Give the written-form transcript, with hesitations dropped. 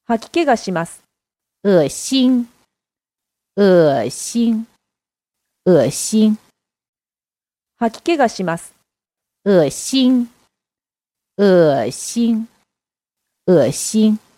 吐き気がします。 恶心，恶心，恶心， 吐き気がします。 恶心，恶心，恶心。